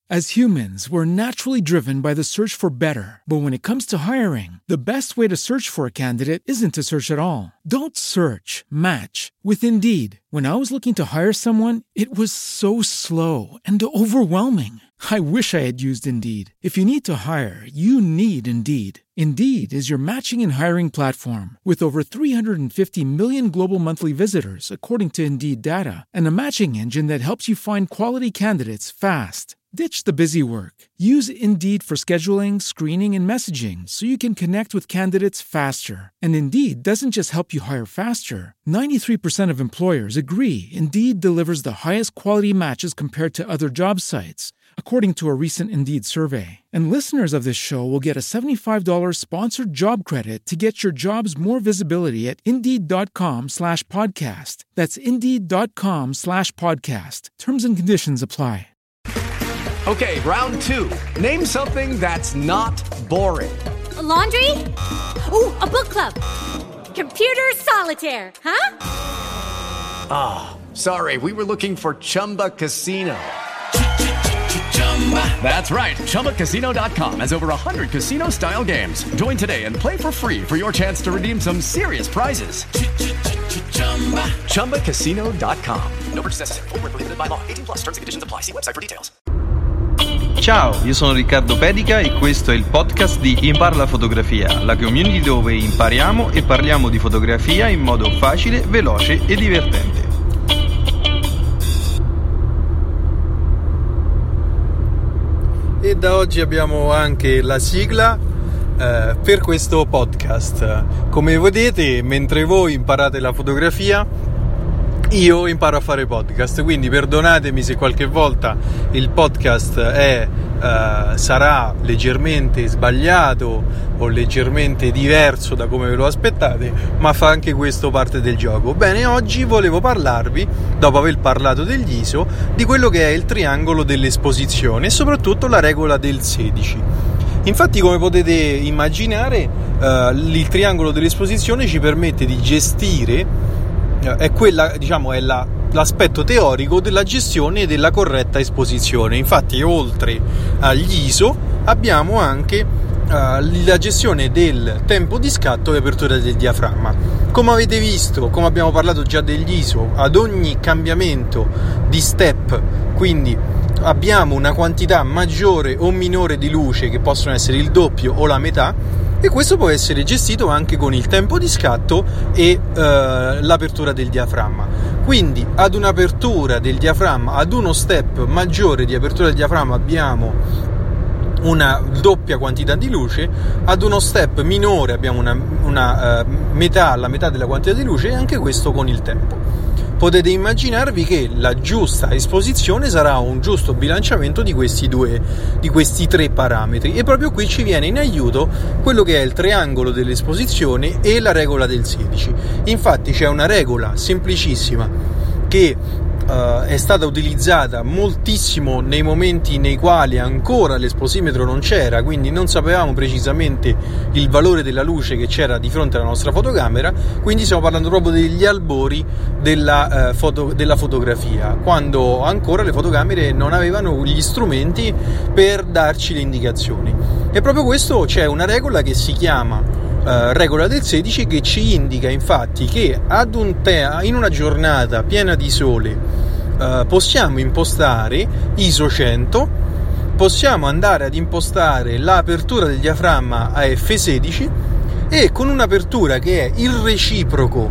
As humans, we're naturally driven by the search for better. But when it comes to hiring, the best way to search for a candidate isn't to search at all. Don't search, match with Indeed. When I was looking to hire someone, it was so slow and overwhelming. I wish I had used Indeed. If you need to hire, you need Indeed. Indeed is your matching and hiring platform with over 350 million global monthly visitors, according to Indeed data, and a matching engine that helps you find quality candidates fast. Ditch the busy work. Use Indeed for scheduling, screening, and messaging so you can connect with candidates faster. And Indeed doesn't just help you hire faster. 93% of employers agree Indeed delivers the highest quality matches compared to other job sites, according to a recent Indeed survey. And listeners of this show will get a $75 sponsored job credit to get your jobs more visibility at Indeed.com/podcast. That's Indeed.com/podcast. Terms and conditions apply. Okay, round two. Name something that's not boring. A laundry? Ooh, a book club. Computer solitaire, huh? Sorry, we were looking for Chumba Casino. That's right. ChumbaCasino.com has over 100 casino-style games. Join today and play for free for your chance to redeem some serious prizes. ChumbaCasino.com. No purchase necessary. Void where prohibited by law. 18+ terms and conditions apply. See website for details. Ciao, io sono Riccardo Pedica e questo è il podcast di Impara la fotografia, la community dove impariamo e parliamo di fotografia in modo facile, veloce e divertente. E da oggi abbiamo anche la sigla per questo podcast. Come vedete, mentre voi imparate la fotografia, io imparo a fare podcast, quindi perdonatemi se qualche volta il podcast sarà leggermente sbagliato o leggermente diverso da come ve lo aspettate, ma fa anche questo parte del gioco. Bene, oggi volevo parlarvi, dopo aver parlato degli ISO, di quello che è il triangolo dell'esposizione e soprattutto la regola del 16. Infatti, come potete immaginare, il triangolo dell'esposizione ci permette di gestire è quella, diciamo, è l'aspetto teorico della gestione della corretta esposizione. Infatti, oltre agli ISO abbiamo anche la gestione del tempo di scatto e apertura del diaframma. Come avete visto, come abbiamo parlato già degli ISO, ad ogni cambiamento di step, quindi abbiamo una quantità maggiore o minore di luce, che possono essere il doppio o la metà, e questo può essere gestito anche con il tempo di scatto e l'apertura del diaframma. Quindi ad un'apertura del diaframma, ad uno step maggiore di apertura del diaframma, abbiamo una doppia quantità di luce, ad uno step minore abbiamo una metà, la metà della quantità di luce, e anche questo con il tempo. Potete immaginarvi che la giusta esposizione sarà un giusto bilanciamento di questi tre parametri, e proprio qui ci viene in aiuto quello che è il triangolo dell'esposizione e la regola del 16. Infatti c'è una regola semplicissima che è stata utilizzata moltissimo nei momenti nei quali ancora l'esposimetro non c'era, quindi non sapevamo precisamente il valore della luce che c'era di fronte alla nostra fotocamera. Quindi stiamo parlando proprio degli albori della fotografia, quando ancora le fotocamere non avevano gli strumenti per darci le indicazioni. E proprio questo, c'è una regola che si chiama regola del 16, che ci indica infatti che in una giornata piena di sole possiamo impostare ISO 100, possiamo andare ad impostare l'apertura del diaframma a F16, e con un'apertura che è il reciproco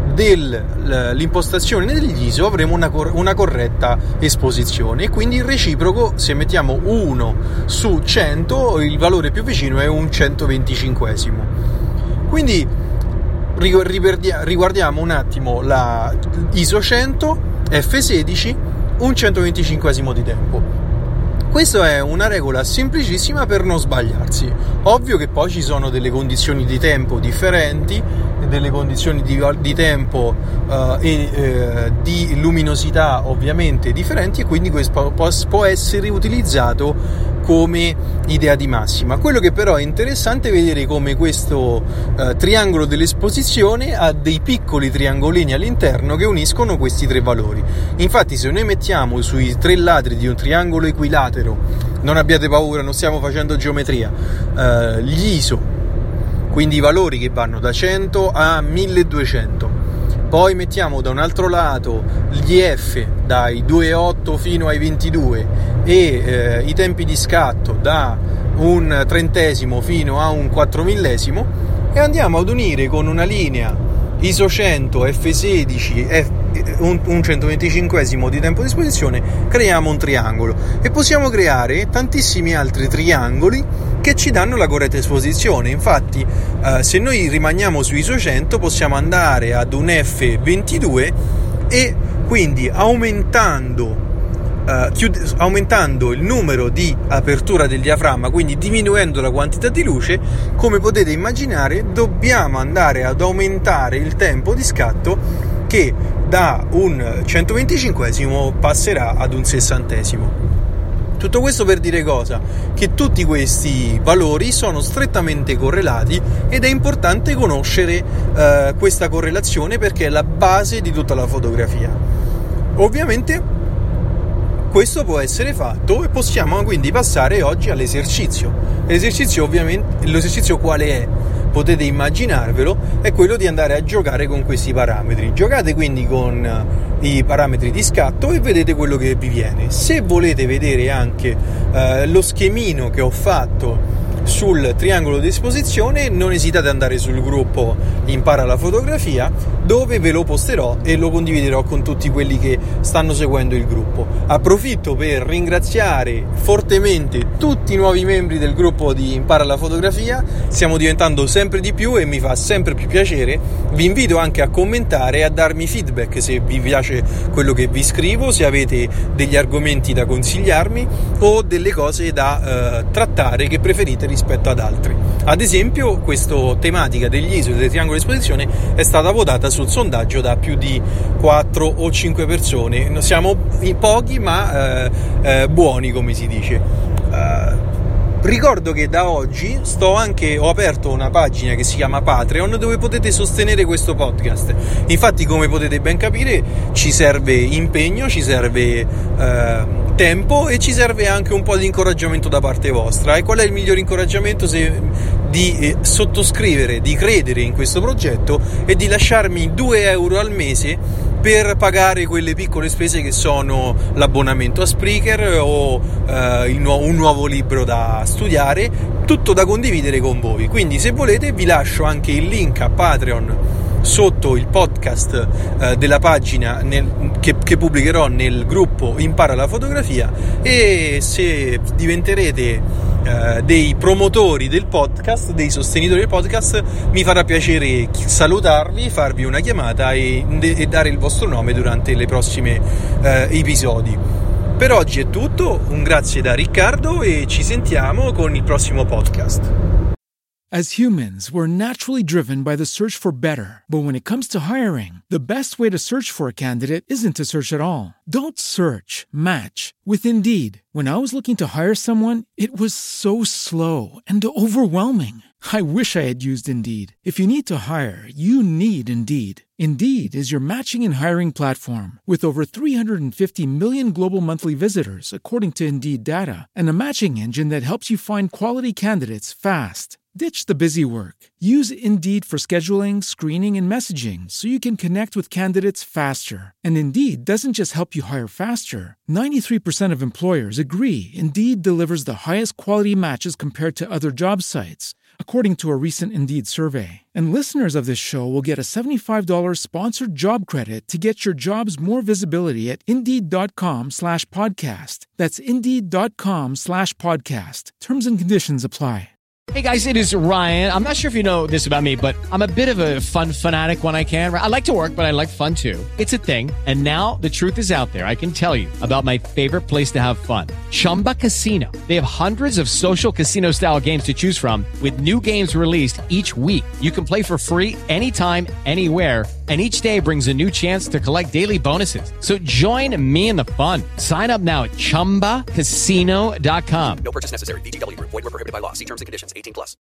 dell'impostazione degli ISO avremo una corretta esposizione. E quindi il reciproco, se mettiamo 1 su 100, il valore più vicino è un 125esimo. Quindi riguardiamo un attimo la ISO 100, F16, un 125esimo di tempo. Questa è una regola semplicissima per non sbagliarsi. Ovvio che poi ci sono delle condizioni di tempo differenti, delle condizioni di tempo e di luminosità ovviamente differenti, e quindi questo può essere utilizzato come idea di massima. Quello che però è interessante è vedere come questo triangolo dell'esposizione ha dei piccoli triangolini all'interno che uniscono questi tre valori. Infatti, se noi mettiamo sui tre lati di un triangolo equilatero, non abbiate paura, non stiamo facendo geometria, gli ISO, quindi i valori che vanno da 100 a 1200, poi mettiamo da un altro lato gli F dai 2,8 fino ai 22 e i tempi di scatto da un trentesimo fino a un 4/1000, e andiamo ad unire con una linea ISO 100 F16 un 125esimo di tempo di esposizione, creiamo un triangolo e possiamo creare tantissimi altri triangoli che ci danno la corretta esposizione. Infatti se noi rimaniamo su ISO 100 possiamo andare ad un F22 e quindi aumentando il numero di apertura del diaframma, quindi diminuendo la quantità di luce, come potete immaginare dobbiamo andare ad aumentare il tempo di scatto, che da un 125esimo passerà ad un 60esimo. Tutto questo per dire cosa? Che tutti questi valori sono strettamente correlati ed è importante conoscere questa correlazione, perché è la base di tutta la fotografia. Ovviamente questo può essere fatto e possiamo quindi passare oggi all'esercizio. L'esercizio quale è? Potete immaginarvelo, è quello di andare a giocare con questi parametri. Giocate quindi con i parametri di scatto e vedete quello che vi viene. Se volete vedere anche lo schemino che ho fatto sul triangolo di esposizione, non esitate ad andare sul gruppo Impara la fotografia, dove ve lo posterò e lo condividerò con tutti quelli che stanno seguendo il gruppo. Approfitto per ringraziare fortemente tutti i nuovi membri del gruppo di Impara la fotografia. Stiamo diventando sempre di più e mi fa sempre più piacere. Vi invito anche a commentare e a darmi feedback se vi piace quello che vi scrivo, se avete degli argomenti da consigliarmi o delle cose da trattare che preferite rispetto ad altri. Ad esempio, questa tematica degli ISO e del triangolo di esposizione è stata votata sul sondaggio da più di 4 o 5 persone. Siamo pochi ma buoni, come si dice. Ricordo che da oggi ho aperto una pagina che si chiama Patreon, dove potete sostenere questo podcast. Infatti, come potete ben capire, ci serve impegno, ci serve tempo e ci serve anche un po' di incoraggiamento da parte vostra. E qual è il miglior incoraggiamento di sottoscrivere, di credere in questo progetto e di lasciarmi 2 euro al mese per pagare quelle piccole spese che sono l'abbonamento a Spreaker o un nuovo libro da studiare, tutto da condividere con voi. Quindi, se volete, vi lascio anche il link a Patreon sotto il podcast della pagina che pubblicherò nel gruppo Impara la fotografia, e se diventerete dei promotori del podcast, dei sostenitori del podcast, mi farà piacere salutarvi, farvi una chiamata e dare il vostro nome durante le prossime episodi. Per oggi è tutto, un grazie da Riccardo e ci sentiamo con il prossimo podcast. As humans, we're naturally driven by the search for better. But when it comes to hiring, the best way to search for a candidate isn't to search at all. Don't search, match with Indeed. When I was looking to hire someone, it was so slow and overwhelming. I wish I had used Indeed. If you need to hire, you need Indeed. Indeed is your matching and hiring platform with over 350 million global monthly visitors, according to Indeed data, and a matching engine that helps you find quality candidates fast. Ditch the busy work. Use Indeed for scheduling, screening, and messaging so you can connect with candidates faster. And Indeed doesn't just help you hire faster. 93% of employers agree Indeed delivers the highest quality matches compared to other job sites, according to a recent Indeed survey. And listeners of this show will get a $75 sponsored job credit to get your jobs more visibility at Indeed.com/podcast. That's Indeed.com/podcast. Terms and conditions apply. Hey guys, it is Ryan. I'm not sure if you know this about me, but I'm a bit of a fun fanatic when I can. I like to work, but I like fun too. It's a thing. And now the truth is out there. I can tell you about my favorite place to have fun. Chumba Casino. They have hundreds of social casino style games to choose from with new games released each week. You can play for free anytime, anywhere. And each day brings a new chance to collect daily bonuses. So join me in the fun. Sign up now at ChumbaCasino.com. No purchase necessary. VGW Group. Void where prohibited by law. See terms and conditions. 18+.